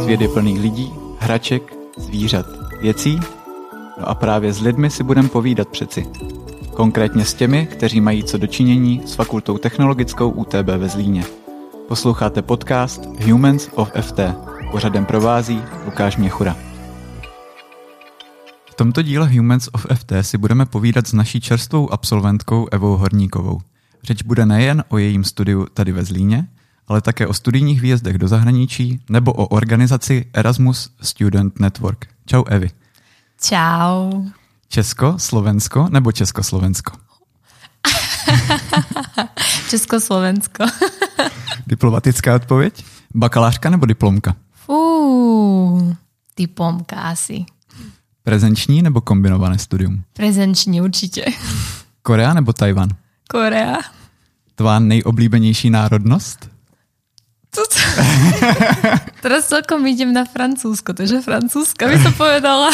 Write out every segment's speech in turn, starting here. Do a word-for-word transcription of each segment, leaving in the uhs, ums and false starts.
Svět je plný lidí, hraček, zvířat, věcí. No a právě s lidmi si budeme povídat přeci. Konkrétně s těmi, kteří mají co dočinění s Fakultou technologickou U T B ve Zlíně. Posloucháte podcast Humans of F T. Pořadem provází Lukáš Měchura. V tomto díle Humans of F T si budeme povídat s naší čerstvou absolventkou Evou Horníkovou. Řeč bude nejen o jejím studiu tady ve Zlíně, ale také o studijních výjezdech do zahraničí nebo o organizaci Erasmus Student Network. Čau Evi. Čau. Česko, Slovensko nebo Československo? Československo. Diplomatická odpověď? Bakalářka nebo diplomka? Fú, diplomka asi. Prezenční nebo kombinované studium? Prezenční určitě. Korea nebo Tajvan? Korea. Tvá nejoblíbenější národnost? Teraz celkom idem na Francúzsko, takže Francúzska by to povedala.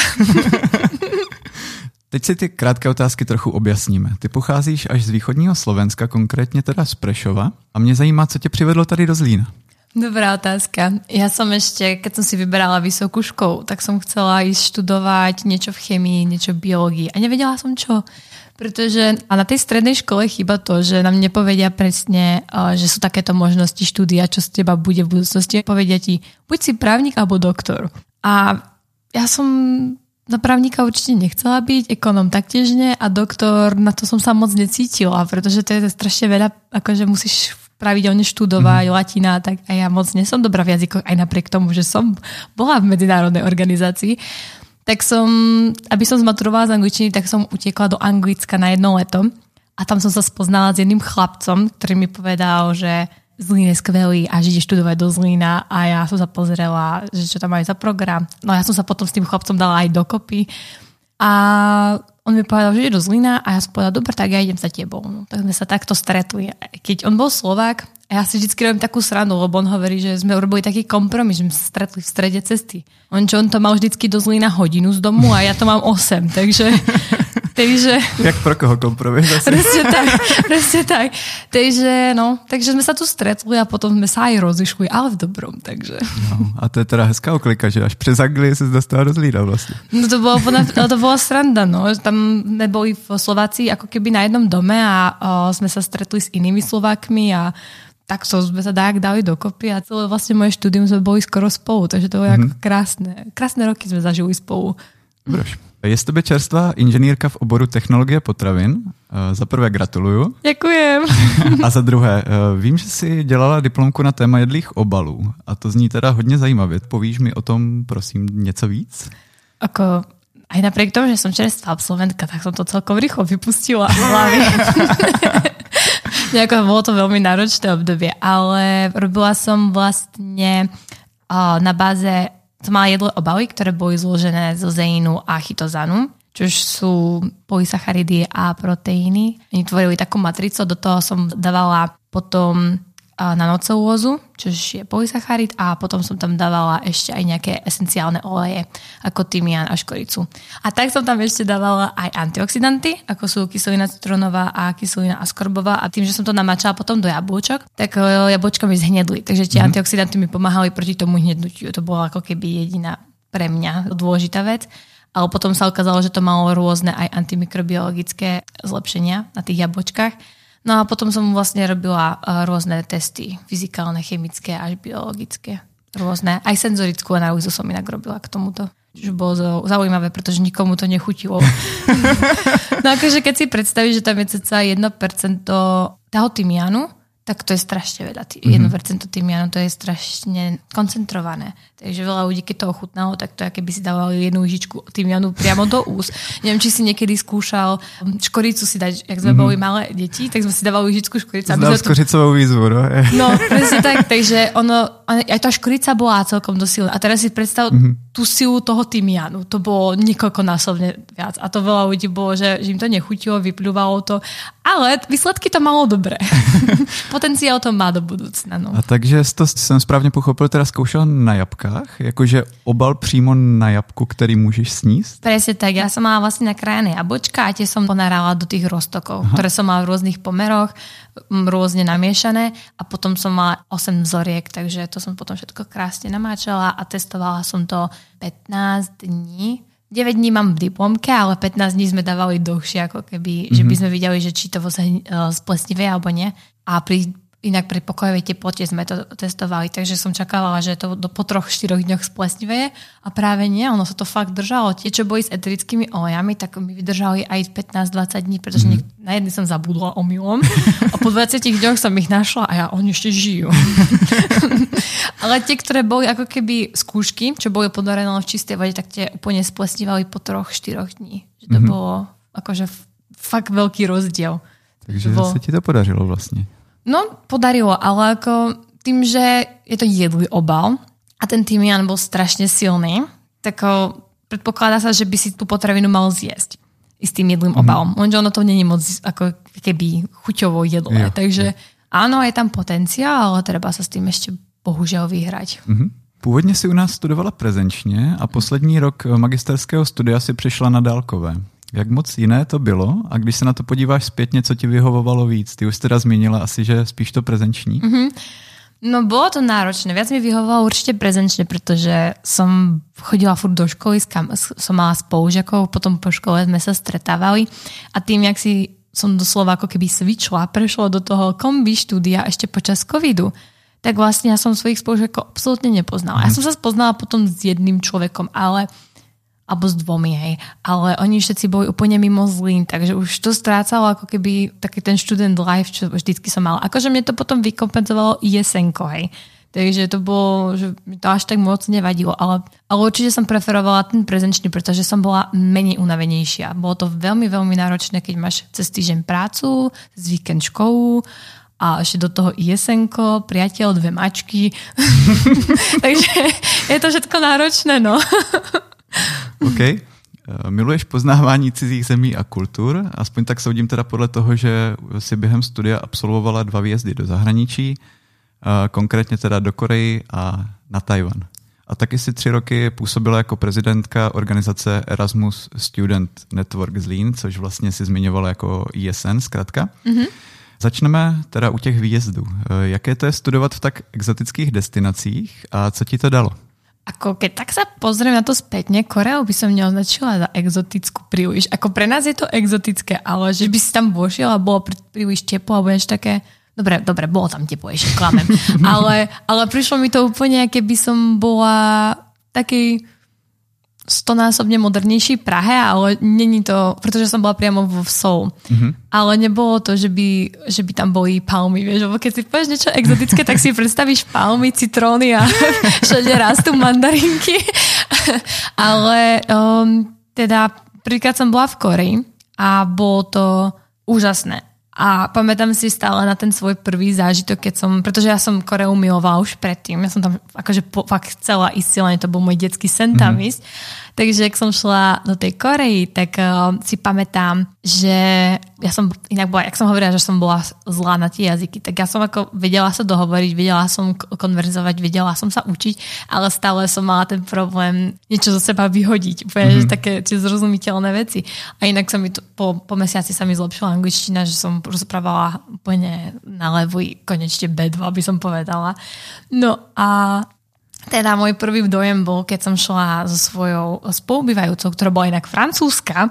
Teď si ty krátké otázky trochu objasníme. Ty pocházíš až z východního Slovenska, konkrétně teda z Prešova. A mě zajímá, co tě přivedlo tady do Zlína. Dobrá otázka. Ja som ešte, keď som si vyberala vysokú školu, tak som chcela ísť študovať niečo v chemii, niečo v biológii. A nevedela som čo. Pretože a na tej strednej škole chýba to, že nám nepovedia presne, že sú takéto možnosti štúdia, čo z teba bude v budúcnosti. Povedia ti, buď si právnik alebo doktor. A ja som na právnika určite nechcela byť, ekonom taktiež nie a doktor, na to som sa moc necítila, pretože to je strašne veľa, akože musíš pravidelne študovať, mm. latina, tak a ja moc nie som dobrá v jazykoch, aj napriek tomu, že som bola v medzinárodnej organizácii. Tak som, aby som zmaturovala z angličtiny, tak som utiekla do Anglicka na jedno leto a tam som sa spoznala s jedným chlapcom, ktorý mi povedal, že Zlín je skvelý a že ide študovať do Zlína a ja som sa pozrela, že čo tam majú za program. No ja som sa potom s tým chlapcom dala aj dokopy a on mi povedal, že ide do Zlína a ja som povedala, dobre, tak ja idem za tebou. No, tak sme sa takto stretli. Keď on bol Slovák, a ja si vždy robím takú srandu, lebo on hovorí, že sme urobili taký kompromis, že sme sa stretli v strede cesty. On čo, on to mal vždycky do Zlína hodinu z domu a ja to mám osem, takže... takže jak pro koho kompromis? Presne tak, presne tak. Takže, no, takže sme sa tu stretli a potom sme sa aj rozišli, ale v dobrom, takže... No, a to je teda hezká oklika, že až přes Anglii se dostala do Zlína vlastne. No to bola, to bola sranda, no. Tam sme boli v Slovácii ako keby na jednom dome a o, sme sa stretli s inými Slovákmi a tak so sme sa tak dali dokopy a celé vlastne moje štúdium sme boli skoro spolu, takže to bolo mm-hmm. jako krásne. Krásne roky sme zažili spolu. Dobroš. Je z tebe čerstvá inženýrka v oboru technologie potravin. Za prvé gratuluju. Děkujem. A za druhé, vím, že jsi dělala diplomku na téma jedlých obalů a to zní teda hodně zajímavě. Povíš mi o tom, prosím, něco víc? Ako, aj napriek tomu, že som čerstvá absolventka, tak som to celkom rýchlo vypustila z hlavy. Nejako, bolo to veľmi náročné obdobie, ale robila som vlastne uh, na báze, som mala jedlé obaly, ktoré boli zložené zo zeínu a chytozanu, čo sú polysacharidy a proteíny. Oni tvorili takú matricu, do toho som dávala potom nanocelulózu, čo je polysacharid a potom som tam dávala ešte aj nejaké esenciálne oleje, ako tymián a škoricu. A tak som tam ešte dávala aj antioxidanty, ako sú kyselina citronová a kyselina askorbová a tým, že som to namačala potom do jablčok, tak jablčka mi zhnedli. Takže tie mm. antioxidanty mi pomáhali proti tomu hnednutiu. To bola ako keby jediná pre mňa dôležitá vec. Ale potom sa ukázalo, že to malo rôzne aj antimikrobiologické zlepšenia na tých jablčkách. No a potom som vlastne robila rôzne testy, fyzikálne, chemické až biologické. Rôzne. Aj senzorickú analýzu som inak robila k tomuto. Čo bolo zaujímavé, pretože nikomu to nechutilo. No akože keď si predstavíš, že tam je cca jedno percento toho tymiánu, tak to je strašne veľa. jedno percento tymiánu, to je strašne koncentrované. Takže veľa ľudí, keď to ochutnalo, tak to je, keby si dávali jednu lyžičku tymiánu priamo do úst. Neviem, či si niekedy skúšal škoricu si dať, jak sme mm-hmm. boli malé deti, tak sme si dávali lyžičku škoricu. Znal škoricovou výzvu, no? No, presne tak. Takže ono, aj tá škorica bola celkom dosilná. A teraz si predstav mm-hmm. tú silu toho tymiánu. To bolo niekoľkonásobne viac. A to veľa ľudí bolo, že, že im to nechutilo, vypľúvalo to. Ale výsledky to malo dobré. Potenciál to má do budoucna. No. A takže to jsem správně pochopil, teda zkoušel na jabkách? Jakože obal přímo na jabku, který můžeš sníst? Presne tak. Ja som mala vlastne nakrájené jablčka a tie som ponárala do tých roztokov, Aha. ktoré som mala v rôznych pomeroch, rôzne namiešané a potom som mala osem vzoriek, takže to som potom všetko krásne namáčala a testovala som to pätnásť dní. deväť dní mám v diplomke, ale pätnásť dní sme dávali dlhšie, ako keby, mm-hmm. že by sme videli, že či to splesnivé alebo nie. A pri Inak pri pokojovej teplote sme to testovali, takže som čakávala, že to do, po troch, štyroch dňoch splesniveje a práve nie, ono sa to fakt držalo. Tie, čo boli s eterickými olejami, tak mi vydržali aj pätnásť dvadsať dní, pretože mm. na jedný som zabudla omylom a po dvadsiatich dňoch som ich našla a ja, oni ešte žijú. Ale tie, ktoré boli ako keby skúšky, čo boli podarené v čistej vode, tak tie úplne splesnívali po troch, štyroch dní. Že to mm-hmm. bolo akože fakt veľký rozdiel. Takže bolo... sa ti to podařilo vlastne. No, podarilo, ale ako tým, že je to jedlý obal a ten tymián bol strašne silný, tak predpokladá sa, že by si tú potravinu mal zjesť i s tým jedlým mm-hmm. obalom. Lenže ono to není moc ako keby chuťovo jedlé. Jo, takže jo. Áno, je tam potenciál, ale treba sa s tým ešte bohužel vyhrať. Mm-hmm. Původně si u nás studovala prezenčně a poslední rok magisterského studia si přišla na dálkové. Jak moc jiné to bylo? A když se na to podíváš zpětně, co ti vyhovovalo víc? Ty už teda zmínila asi, že spíš to prezenční. Mm-hmm. No bolo to náročné. Viac mi vyhovovalo určite prezenčne, pretože som chodila furt do školy, som mala spolužiakov, potom po škole sme sa stretávali a tým, jak si som doslova ako keby svičla, prešla do toho kombi štúdia ešte počas covidu, tak vlastne ja som svojich spolužiakov absolútne nepoznala. Mm. Ja som sa spoznala potom s jedným človekom, ale alebo s dvomi, hej. Ale oni všetci boli úplne mimo Zlín, takže už to strácalo ako keby taký ten student life, čo vždycky som mala. Akože mne to potom vykompenzovalo jesenko, hej. Takže to bolo, že mi to až tak moc nevadilo, ale, ale určite som preferovala ten prezenčný, pretože som bola menej unavenejšia. Bolo to veľmi, veľmi náročné, keď máš cez týždeň prácu, cez víkend školu a ešte do toho jesenko, priateľ, dve mačky. Takže je to všetko náročné, no. OK. Miluješ poznávání cizích zemí a kultur? Aspoň tak soudím teda podle toho, že si během studia absolvovala dva výjezdy do zahraničí, konkrétně teda do Koreji a na Tajvan. A taky si tři roky působila jako prezidentka organizace Erasmus Student Network Zlín, což vlastně si zmiňovala jako E S N zkrátka. Mm-hmm. Začneme teda u těch výjezdů. Jaké to je studovat v tak exotických destinacích a co ti to dalo? Ako keď tak sa pozriem na to spätne, Koreu by som neoznačila za exotickú príliš. Ako pre nás je to exotické, ale že by si tam vošiel a bolo príliš teplo alebo niečo také... Dobre, dobre, bolo tam teplo, ešte klamem. ale, ale prišlo mi to úplne, keby som bola taký stonásobne modernejší Prahe, ale není to, pretože som bola priamo vo Seoul. Mm-hmm. Ale nebolo to, že by, že by tam boli palmy, vieš, lebo keď si povieš niečo exotické, tak si predstavíš palmy, citróny a všade rastú mandarinky. Ale um, teda prvýkrát som bola v Koreji a bolo to úžasné. A pamätám si stále na ten svoj prvý zážitok, keď som, pretože ja som Koreu milovala už predtým, ja som tam akože po, fakt chcela ísť silne, to bol môj detský sen tam mm-hmm. ísť. Takže ak som šla do tej Koreji, tak uh, si pamätám, že ja som inak bola, jak som hovorila, že som bola zlá na tie jazyky, tak ja som ako vedela sa dohovoriť, vedela som konverzovať, vedela som sa učiť, ale stále som mala ten problém niečo zo seba vyhodiť, úplne, mm-hmm. že také tie zrozumiteľné veci. A inak sa mi to, po, po mesiaci sa mi zlepšila angličtina, že som rozprávala úplne na levý, konečne bé dva by som povedala. No a teda môj prvý dojem bol, keď som šla so svojou spolubývajúcou, ktorá bola inak francúzska.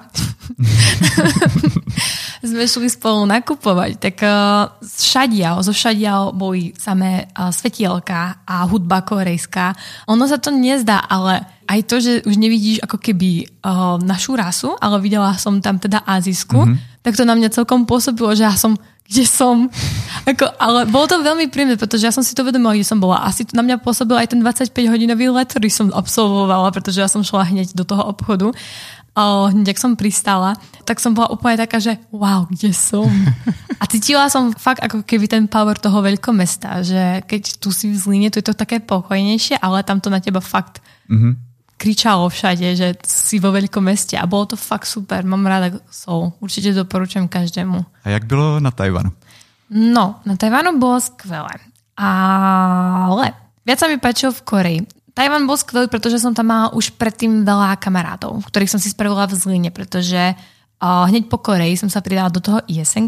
Sme šli spolu nakupovať. Tak uh, všadiaľ, zo všadiaľ boli samé uh, svetielka a hudba korejská. Ono sa to nezdá, ale aj to, že už nevidíš ako keby uh, našu rasu, ale videla som tam teda azijskú, mm-hmm. tak to na mňa celkom pôsobilo, že ja som kde som. Ako, ale bolo to veľmi príjemné, pretože ja som si to vedomila, kde som bola. Asi na mňa pôsobil aj ten dvadsaťpäťhodinový let, ktorý som absolvovala, pretože ja som šla hneď do toho obchodu. O, hneď, ak som pristala, tak som bola úplne taká, že wow, kde som? A cítila som fakt ako keby ten power toho veľkomesta, že keď tu si v Zlíne, to je to také pokojnejšie, ale tam to na teba fakt mm-hmm. kričalo všade, že si vo veľkom meste a bolo to fakt super. Mám rada Seoul. Určite doporučujem každému. A jak bylo na Tajvanu? No, na Tajvanu bolo skvelé. Ale viac sa mi páčilo v Koreji. Tajvan bol skvelý, pretože som tam mala už predtým veľa kamarátov, ktorých som si spravila v Zlíne, pretože uh, hneď po Koreji som sa pridala do toho jesenka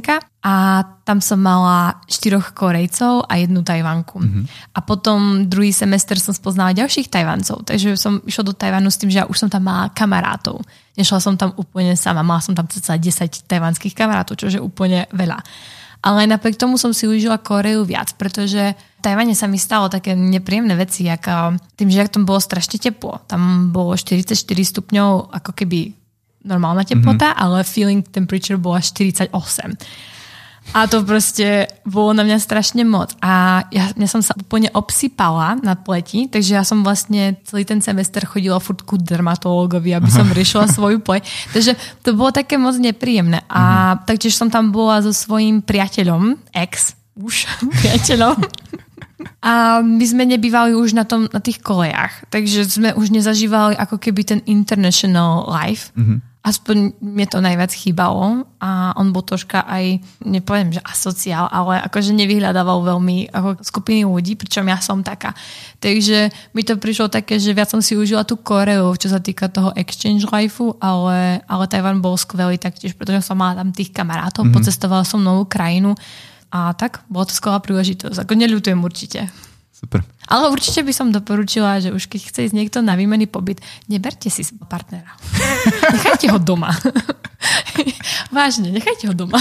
a tam som mala štyroch Korejcov a jednu Tajvanku. Mm-hmm. A potom druhý semester som spoznala ďalších Tajvancov, takže som išla do Tajvanu s tým, že ja už som tam mala kamarátov. Nešla som tam úplne sama, mala som tam cca desať tajvanských kamarátov, čo je úplne veľa. Ale napriek tomu som si užila Koreu viac, pretože v Tajvane sa mi stalo také nepríjemné veci, ako tým, že tam bolo strašne teplo. Tam bolo štyridsaťštyri stupňov, ako keby normálna teplota, mm-hmm. ale feeling temperature bola štyridsaťosem. A to proste bolo na mňa strašne moc. A ja, ja som sa úplne obsypala na pleti, takže ja som vlastne celý ten semester chodila furt ku dermatológovi, aby som riešila svoju pleť. Takže to bolo také moc nepríjemné. A mm-hmm. taktiež som tam bola so svojím priateľom, ex, už priateľom. A my sme nebývali už na, tom, na tých kolejach. Takže sme už nezažívali ako keby ten international life. Mm-hmm. Aspoň mne to najviac chýbalo a on bol troška aj, nepoviem, že asociál, ale akože nevyhľadával veľmi ako skupiny ľudí, pričom ja som taká. Takže mi to prišlo také, že viac som si užila tú Koreu, čo sa týka toho exchange lifeu, ale, ale Tajvan bol skvelý taktiež, pretože som mala tam tých kamarátov, mm-hmm. pocestovala som novú krajinu a tak, bola to skvelá príležitosť. Ako neľutujem určite. Super. Ale určite by som doporučila, že už keď chce ísť niekto na výmenný pobyt, neberte si partnera. Nechajte ho doma. Vážne, nechajte ho doma.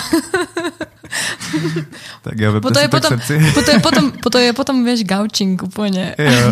Tak ja potom je potom, potom, je potom, potom je potom, vieš, gaučing úplně. Jo.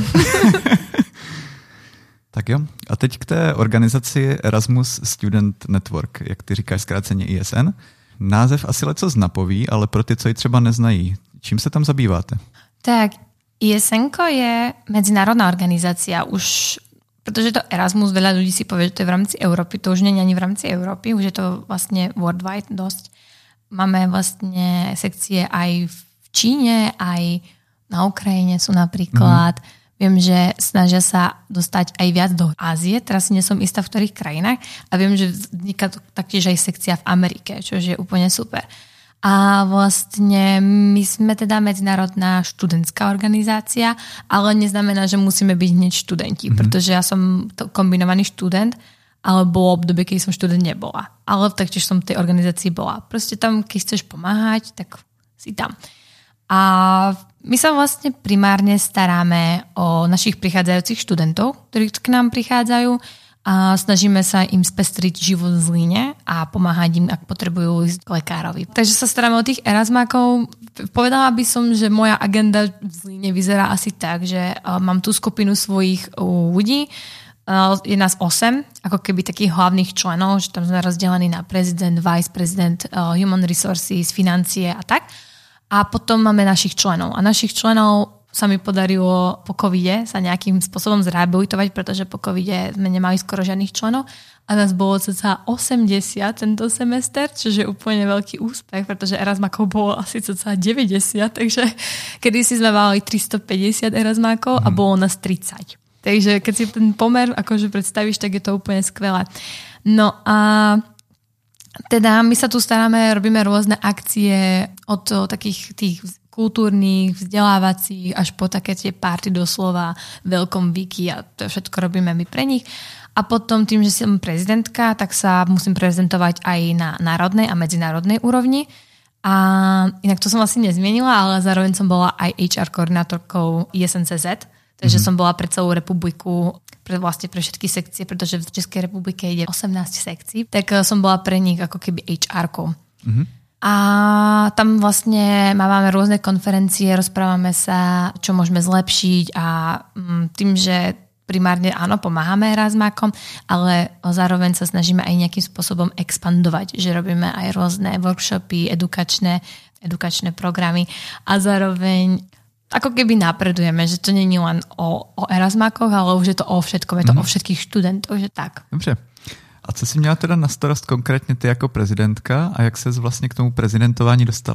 Tak jo. A teď k té organizaci Erasmus Student Network, jak ty říkáš zkráceně I S N. Název asi lecos napoví, ale pro ty, co ji třeba neznají, čím se tam zabýváte? Tak, I S N je medzinárodná organizácia, už, pretože to Erasmus, veľa ľudí si povie, že to je v rámci Európy, to už nie je ani v rámci Európy, už je to vlastne worldwide dosť. Máme vlastne sekcie aj v Číne, aj na Ukrajine sú napríklad. Mm-hmm. Viem, že snažia sa dostať aj viac do Ázie, teraz si nie som istá v ktorých krajinách a viem, že vzniká taktiež aj sekcia v Amerike, čo je úplne super. A vlastne my sme teda medzinárodná študentská organizácia, ale neznamená, že musíme byť hneď študenti, mm-hmm. pretože ja som kombinovaný študent, ale bolo obdobie, keď som študent nebola. Ale taktiež som v tej organizácii bola. Proste tam, keď chceš pomáhať, tak si tam. A my sa vlastne primárne staráme o našich prichádzajúcich študentov, ktorí k nám prichádzajú, a snažíme sa im spestriť život v Zlíne a pomáhať im, ak potrebujú ísť k lekárovi. Takže sa staráme o tých Erasmákov. Povedala by som, že moja agenda v Zlíne vyzerá asi tak, že mám tú skupinu svojich ľudí, je nás osem, ako keby takých hlavných členov, že tam sme rozdelení na prezident, vice prezident, human resources, financie a tak. A potom máme našich členov. A našich členov sa mi podarilo po covide sa nejakým spôsobom zrehabilitovať, pretože po covide sme nemali skoro žiadnych členov a nás bolo cca osemdesiat tento semester, čo je úplne veľký úspech, pretože Erasmákov bolo asi cca deväťdesiat, takže kedysi sme mali tristopäťdesiat Erasmákov a bolo nás tridsať. Takže keď si ten pomer akože predstavíš, tak je to úplne skvelé. No a teda my sa tu staráme, robíme rôzne akcie od takých tých kultúrnych, vzdelávacích, až po také tie party doslova, welcome weeky a to všetko robíme my pre nich. A potom tým, že som prezidentka, tak sa musím prezentovať aj na národnej a medzinárodnej úrovni. A inak to som asi nezmienila, ale zároveň som bola aj há er koordinátorkou I S N C Z, takže mm-hmm. som bola pre celú republiku, pre, vlastne pre všetky sekcie, pretože v Českej republike ide osemnásť sekcií, tak som bola pre nich ako keby há erkou. Mm-hmm. A tam vlastne máme rôzne konferencie, rozprávame sa, čo môžeme zlepšiť a tým, že primárne áno, pomáhame Erasmákom, ale zároveň sa snažíme aj nejakým spôsobom expandovať, že robíme aj rôzne workshopy, edukačné, edukačné programy a zároveň ako keby napredujeme, že to nie je len o, o Erasmákoch, ale už je to o všetkom, je to mm-hmm. o všetkých študentoch, že tak. Dobře. A co jsi měla teda na starost konkrétně ty jako prezidentka a jak ses vlastně k tomu prezidentování dostala?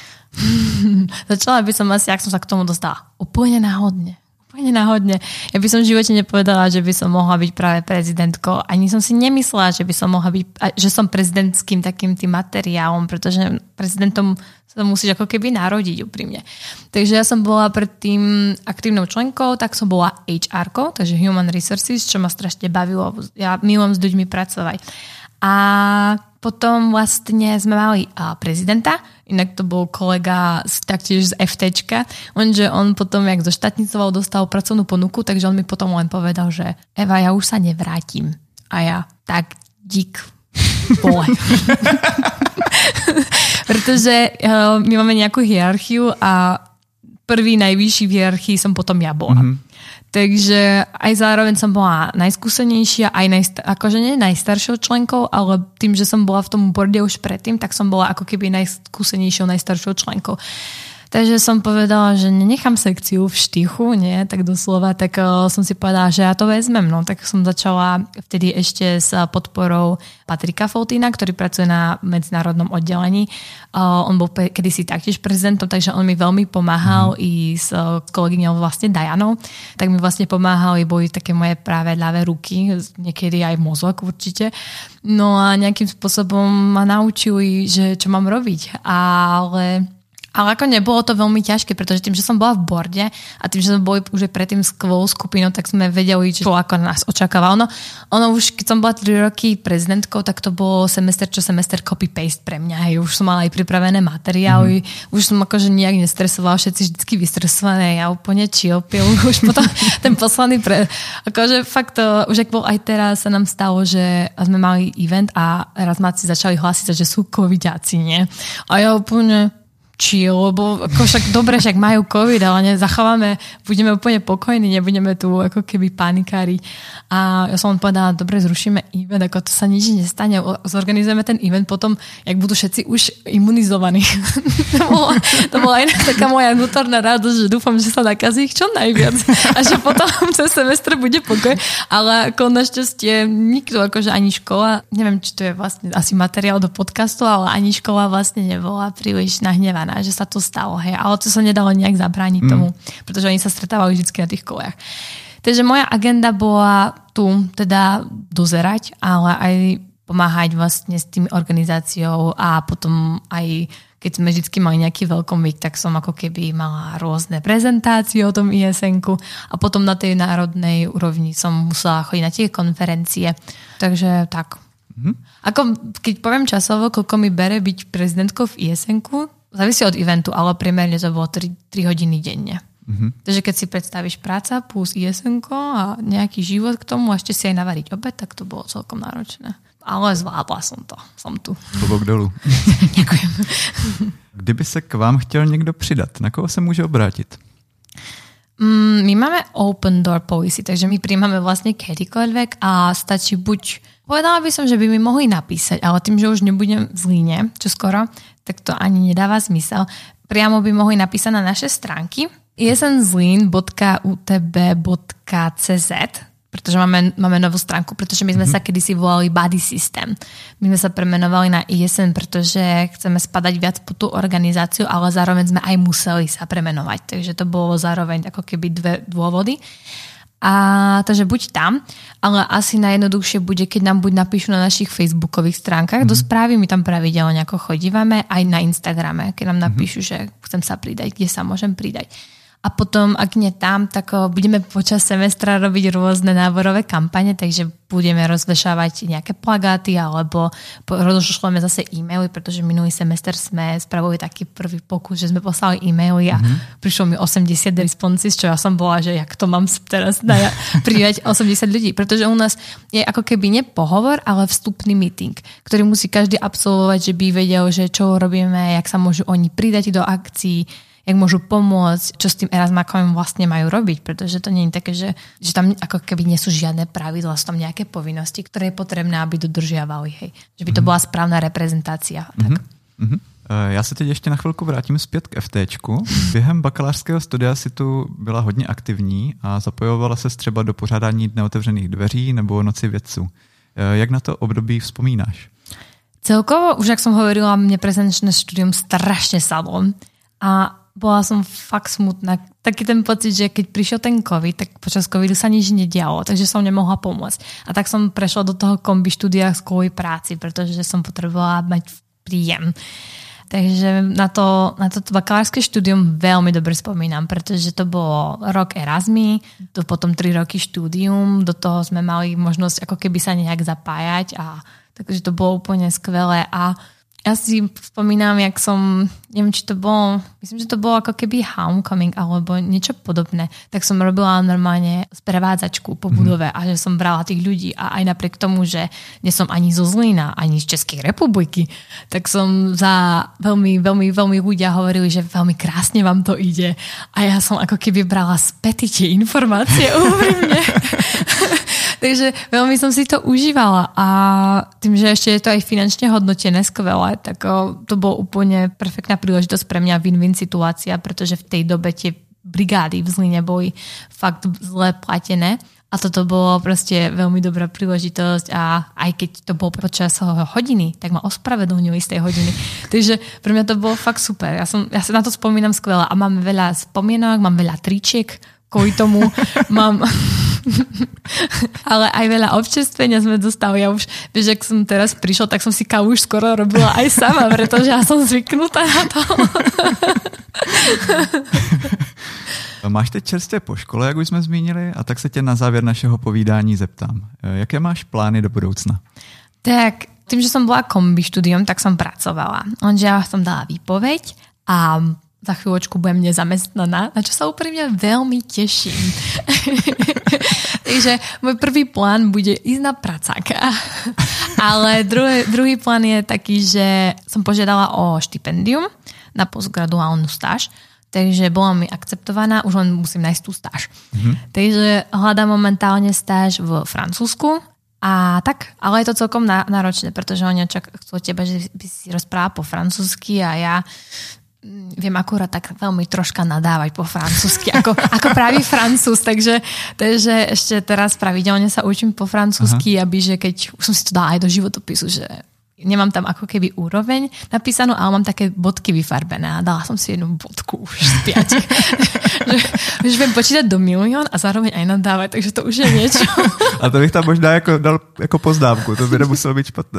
Začala by som asi, jak som sa k tomu dostala. Úplne náhodne. Úplne náhodne. Ja by som v živote nepovedala, že by som mohla byť práve prezidentkou. Ani som si nemyslela, že by som mohla byť, že som prezidentským takým tým materiálom, pretože prezidentom sa musíš ako keby narodiť úprimne. Takže ja som bola predtým aktívnou členkou, tak som bola há erkou, takže Human Resources, čo ma strašne bavilo. Ja milujem s ľuďmi pracovať. A potom vlastne sme mali uh, prezidenta, inak to bol kolega z, taktiež z FTčka, lenže on potom, jak zoštátnicoval, dostal pracovnú ponuku, takže on mi potom len povedal, že Eva, ja už sa nevrátim. A ja, tak dík, bole. Pretože uh, my máme nejakú hierarchiu a prvý najvyšší v hierarchii som potom ja bola. Mm-hmm. Takže aj zároveň som bola najskúsenejšia, aj najstar- akože nie najstaršou členkou, ale tým, že som bola v tom borde už predtým, tak som bola ako keby najskúsenejšou, najstaršou členkou. Takže som povedala, že nenechám sekciu v štychu, nie, tak doslova, tak uh, som si povedala, že ja to vezmem. No, tak som začala vtedy ešte s podporou Patrika Foltína, ktorý pracuje na medzinárodnom oddelení. Uh, on bol pe- kedysi taktiež prezidentom, takže on mi veľmi pomáhal mm. i s uh, kolegyňou vlastne Dianou. Tak mi vlastne pomáhali, boli také moje práve ľavé ruky, niekedy aj mozog určite. No a nejakým spôsobom ma naučili, že čo mám robiť. Ale... Ale ako nebolo to veľmi ťažké, pretože tým, že som bola v borde a tým, že sme boli už predtým skvelou skupinou, tak sme vedeli, čo ako nás očakáva. Ono, ono už, keď som bola tri roky prezidentkou, tak to bolo semester čo semester copy-paste pre mňa. Hej. Už som mala aj pripravené materiály, mm. už som akože nejak nestresovala, všetci vždycky vystresované, ja úplne chill pil. Už potom ten posledný pre... Akože fakt, to, už ak bol aj teraz, sa nám stalo, že sme mali event a raz máci začali hlásiť, že sú covidiaci, nie? A ja úplne... chill, lebo ako však dobre, však majú covid, ale nezachováme, budeme úplne pokojní, nebudeme tu ako keby panikári. A ja som len povedala, dobre, zrušíme event, ako to sa nič nestane, zorganizujeme ten event potom, jak budú všetci už imunizovaní. to, bola, to bola aj taká moja vnútorná radosť, že dúfam, že sa nakazí ich čo najviac a že potom cez semestr bude pokoj, ale ako našťastie nikto, akože ani škola, neviem, či to je vlastne asi materiál do podcastu, ale ani škola vlastne nebola príliš nahnevaná, že sa to stalo, hej, ale to sa nedalo nejak zabrániť mm. tomu, pretože oni sa stretávali vždy na tých kolejach. Takže moja agenda bola tu teda dozerať, ale aj pomáhať vlastne s tým organizáciou a potom aj keď sme vždy mali nejaký welcome week, tak som ako keby mala rôzne prezentácie o tom í es en-ku a potom na tej národnej úrovni som musela chodiť na tie konferencie. Takže tak. Mm. Ako keď poviem časovo, koľko mi bere byť prezidentkou v í es en-ku, závisí od eventu, ale priemerne to bolo tri hodiny denne. Mm-hmm. Takže keď si predstavíš práca plus í es en-ko a nejaký život k tomu a ešte si aj navariť obed, tak to bolo celkom náročné. Ale zvládla som to. Som tu. Klobouk dolů. Ďakujem. Kdyby se k vám chtěl někdo přidat, na koho se může obrátit? Mm, my máme open door policy, takže my príjmame vlastne kedykoľvek a stačí buď, povedala by som, že by mi mohli napísať, ale tým, že už nebudem v Zlíne, čo skoro, tak to ani nedáva zmysel. Priamo by mohli napísať na naše stránky í es en zlín bodka ú té bé bodka cé zet, pretože máme, máme novú stránku, pretože my sme mm-hmm. sa kedysi volali Body System. My sme sa premenovali na í es en, pretože chceme spadať viac po tú organizáciu, ale zároveň sme aj museli sa premenovať. Takže to bolo zároveň ako keby dve dôvody. A takže buď tam, ale asi najjednoduchšie bude, keď nám buď napíšu na našich facebookových stránkach, mm-hmm. do správy my tam pravidelne ako chodívame, aj na Instagrame, keď nám napíšu, mm-hmm. že chcem sa pridať, kde sa môžem pridať. A potom, ak nie tam, tak budeme počas semestra robiť rôzne náborové kampane, takže budeme rozvešávať nejaké plagáty alebo rozšleme zase e-maily, pretože minulý semester sme spravili taký prvý pokus, že sme poslali e-maily a mm-hmm. prišlo mi osemdesiat responses, čo ja som bola, že jak to mám teraz prijať osemdesiat ľudí, pretože u nás je ako keby nie pohovor, ale vstupný meeting, ktorý musí každý absolvovať, že by vedel, že čo robíme, jak sa môžu oni pridať do akcií, jak môžu pomôcť, čo s tým Erasmákom vlastne majú robiť, pretože to nie je také, že, že tam ako keby nie sú žiadne pravidlá, sú tam nejaké povinnosti, ktoré je potrebné, aby dodržiavali, hej. Že by to bola správna reprezentácia. Tak. Mm-hmm. Já se teď ještě na chvilku vrátím zpět k FTčku. Během bakalářského studia si tu byla hodně aktivní a zapojovala se třeba do pořádání Dne otevřených dveří nebo Noci vědců. Jak na to období vzpomínáš? Celkovo, už jak som hovorila, mne prezenčné štúdium strašne sadlo. A bola som fakt smutná. Taký ten pocit, že keď prišiel ten COVID, tak počas covidu sa nič nedialo, takže som nemohla pomôcť. A tak som prešla do toho kombi štúdia kvôli práci, pretože som potrebovala mať príjem. Takže na to, na toto bakalárske štúdium veľmi dobre spomínam, pretože to bolo rok Erasmy, to potom tri roky štúdium, do toho sme mali možnosť ako keby sa nejak zapájať a Takže to bolo úplne skvelé a ja si spomínam, jak som, neviem, či to bolo, myslím, že to bolo ako keby homecoming alebo niečo podobné, tak som robila normálne sprevádzačku po budove a že som brala tých ľudí a aj napriek tomu, že nie som ani zo Zlína, ani z Českej republiky, tak som za veľmi, veľmi, veľmi ľudia hovorili, že veľmi krásne vám to ide a ja som ako keby brala späty tie informácie úprimne. Takže veľmi som si to užívala a tým, že ešte je to aj finančne hodnotené skvelé, tak to bolo úplne perfektná príležitosť pre mňa win-win situácia, pretože v tej dobe tie brigády v Zlíne boli fakt zle platené a toto bolo proste veľmi dobrá príležitosť a aj keď to bolo počas hodiny, tak ma ospravedlnili z tej hodiny. Takže pre mňa to bolo fakt super. Ja, som, ja sa na to spomínam skvelé a mám veľa spomienok, mám veľa tričiek, kvôli tomu mám ale aj veľa občerstvenia sme dostali. Ja už, vieš, ak som teraz prišla, tak som si kávu už skoro robila aj sama, pretože ja som zvyknutá na to. Máš teď čerstvě po škole, jak už jsme zmínili, a tak se tě na závěr našeho povídání zeptám. Jaké máš plány do budoucna? Tak, tým, že som bola kombi štúdium, tak som pracovala. Lenže ja som dala výpoveď a za chvíľočku budem nezamestnaná, na čo sa úprimne veľmi teším. Takže môj prvý plán bude ísť na pracáka. Ale druhý, druhý plán je taký, že som požiadala o štipendium na postgraduálnu stáž, takže bola mi akceptovaná, už len musím nájsť tú stáž. Mm-hmm. Takže hľadám momentálne stáž v Francúzsku a tak, ale je to celkom náročné, pretože oni čak chcú od teba, že by si rozprával po francúzsky a ja viem akurát tak veľmi troška nadávať po francúzsky, ako, ako pravý Francúz, takže, takže ešte teraz pravidelne sa učím po francúzsky, aby že keď, už som si to dala aj do životopisu, že nemám tam ako keby úroveň napísanú, ale mám také bodky vyfarbené a dala som si jednu bodku už z piatich. že, že viem počítať do milión a zároveň aj nadávať, takže to už je niečo. A to bych tam možná jako dal jako pozdávku, to by nemuselo byť špatné.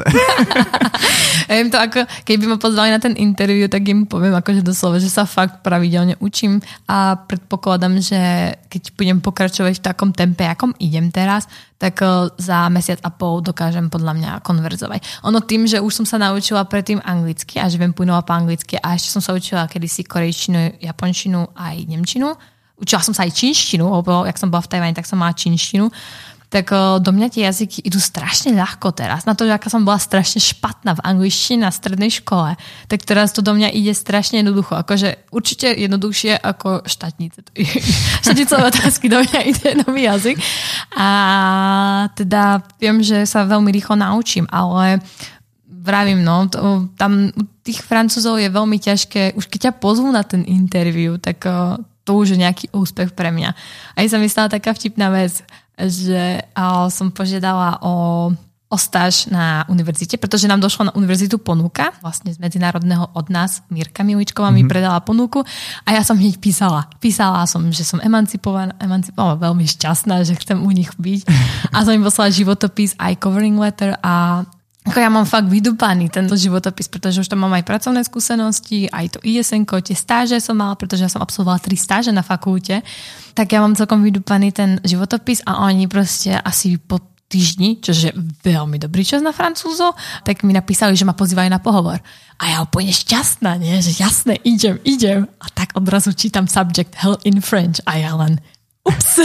Ja im to ako, keby ma pozvali na ten interview, tak im poviem akože doslova, že sa fakt pravidelne učím a predpokladám, že keď budem pokračovať v takom tempe, akom idem teraz, tak za mesiac a pol dokážem podľa mňa konverzovať. Ono tým, že už som sa naučila predtým anglicky a že viem plynovať po anglicky a ešte som sa učila kedysi korejčinu, japončinu aj nemčinu. Učila som sa aj čínštinu, lebo jak som bola v Tajvane, tak som mala čínštinu. Tak do mňa tie jazyky idú strašne ľahko teraz. Na to, že aká som bola strašne špatná v angličtine na strednej škole, tak teraz to do mňa ide strašne jednoducho. Akože určite jednoduchšie ako štátnice. Štátnicové otázky do mňa ide nový jazyk. A teda viem, že sa veľmi rýchlo naučím, ale vravím, no, to, tam u tých Francúzov je veľmi ťažké, už keď ťa pozvú na ten interview, tak to už je nejaký úspech pre mňa. A ja som myslela taká vtipná vec, že som požiadala o, o stáž na univerzite, pretože nám došla na univerzitu ponuka, vlastne z medzinárodného od nás, Mirka Miličková mi mm-hmm. predala ponuku a ja som hneď písala. Písala som, že som emancipovaná, emancipovaná, veľmi šťastná, že chcem u nich byť a som im poslala životopis, aj covering letter a ako ja mám fakt vydupaný tento životopis, pretože už tam mám aj pracovné skúsenosti, aj to í es enko, tie stáže som mala, pretože ja som absolvovala tri stáže na fakulte, tak ja mám celkom vydupaný ten životopis a oni proste asi po týždni, čo je veľmi dobrý čas na Francúzov, tak mi napísali, že ma pozývajú na pohovor. A ja úplne šťastná, nie? Že jasné, idem, idem. A tak odrazu čítam subject hell in French a ja len ups.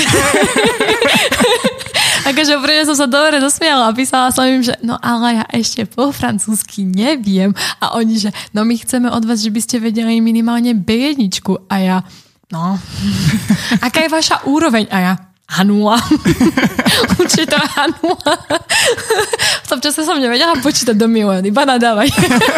Takže úplne som sa dobre dosmiala a písala som im, že no ale ja ešte po francúzsky neviem. A oni, že no my chceme od vás, že by ste vedeli minimálne bé jedna. A ja, no, aká je vaša úroveň? A ja, há nula. Určite há nula. V tom čase som nevedela počítať do milióny, iba nadávať.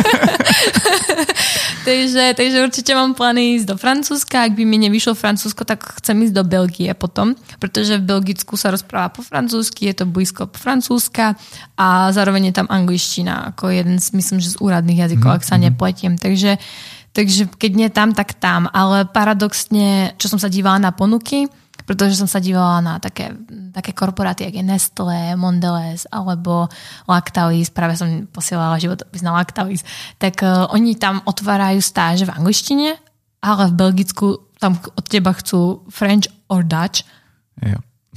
takže, takže určite mám plány ísť do Francúzska. Ak by mi nevyšlo Francúzsko, tak chcem ísť do Belgie potom, pretože v Belgicku sa rozpráva po francúzsky, je to blízko po Francúzska a zároveň je tam angličtina ako jeden z, myslím, že z úradných jazykov, mm-hmm. ak sa nepletiem. Takže, takže keď nie tam, tak tam. Ale paradoxne, čo som sa dívala na ponuky, pretože som sa dívala na také, také korporáty, jak je Nestlé, Mondelez alebo Lactalis, práve som posielala životopis na Lactalis, tak uh, oni tam otvárajú stáže v angličtine, ale v Belgicku tam od teba chcú French or Dutch. Jo.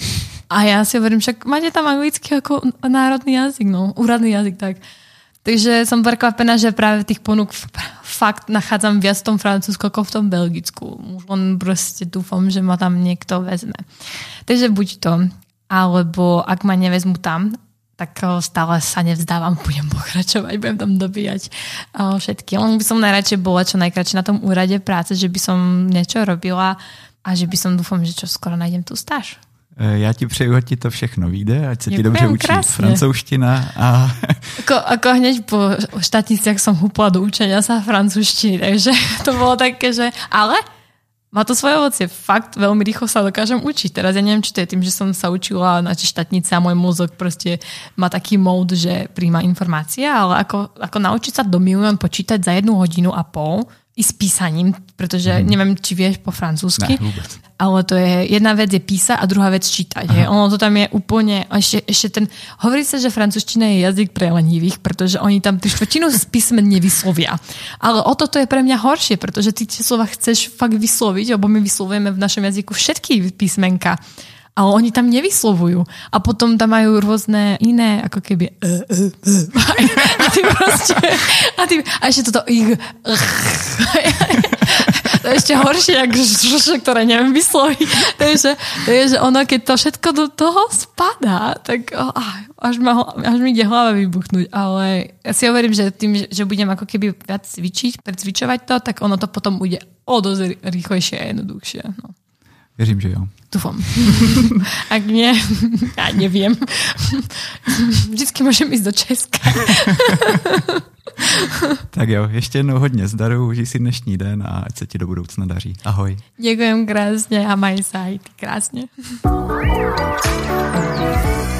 A já si hovorím, však máte tam anglický jako národný jazyk, no, úradný jazyk, tak. Takže som prekvapená, že práve tých ponúk fakt nachádzam viac v tom Francúzsku ako v tom Belgicku. Už len proste dúfam, že ma tam niekto vezme. Takže buď to, alebo ak ma nevezmu tam, tak stále sa nevzdávam, budem pokračovať, budem tam dobíjať všetky. Len by som najradšej bola čo najkračšie na tom úrade práce, že by som niečo robila a že by som dúfam, že čo skoro nájdem tú stáž. Já ti přeju, ať ti to všechno vyjde, ať se ti Děkujem, dobře učí krásně. francouzština. A... Ako, ako hneď po štátniciach som húpla do učenia sa francúzštiny, takže to bolo také, že ale má to svoje ovocie. Fakt veľmi rýchlo sa dokážem učiť. Teraz ja neviem, či to je tým, že som sa učila na štátnice a môj mozog proste má taký mód, že príjma informácie, ale ako, ako naučiť sa do milión počítať za jednu hodinu a pol i s písaním, pretože hmm. neviem, či vieš po francúzsky. Ne, vôbec. Ale to je, jedna vec je písať a druhá vec čítať. Je. Ono to tam je úplne, ešte, ešte ten, hovorí sa, že francúzština je jazyk pre lenivých, pretože oni tam tú štvrtinu z písmen nevyslovia. Ale o toto je pre mňa horšie, pretože ty tie slova chceš fakt vysloviť, lebo my vyslovujeme v našom jazyku všetky písmenka. Ale oni tam nevyslovujú. A potom tam majú rôzne iné, ako keby uh, uh, uh. a ty proste a, ty, a ešte toto ich to je ešte horšie, ktoré neviem vysloviť. Takže, takže ono, keď to všetko do toho spadá, tak oh, až, ma, až mi ide hlava vybuchnúť. Ale ja si hovorím, že tým, že budem ako keby viac cvičiť, precvičovať to, tak ono to potom bude o dosť rýchlejšie a jednoduchšie. No. Věřím, že jo. Dúfam. Ak nie, ja neviem. Vždycky môžem ísť do Česka. Tak jo, ještě jednou hodně zdaru, užij si dnešní den a ať se ti do budoucna daří. Ahoj. Ďakujem krásne a maj sa aj ty krásne.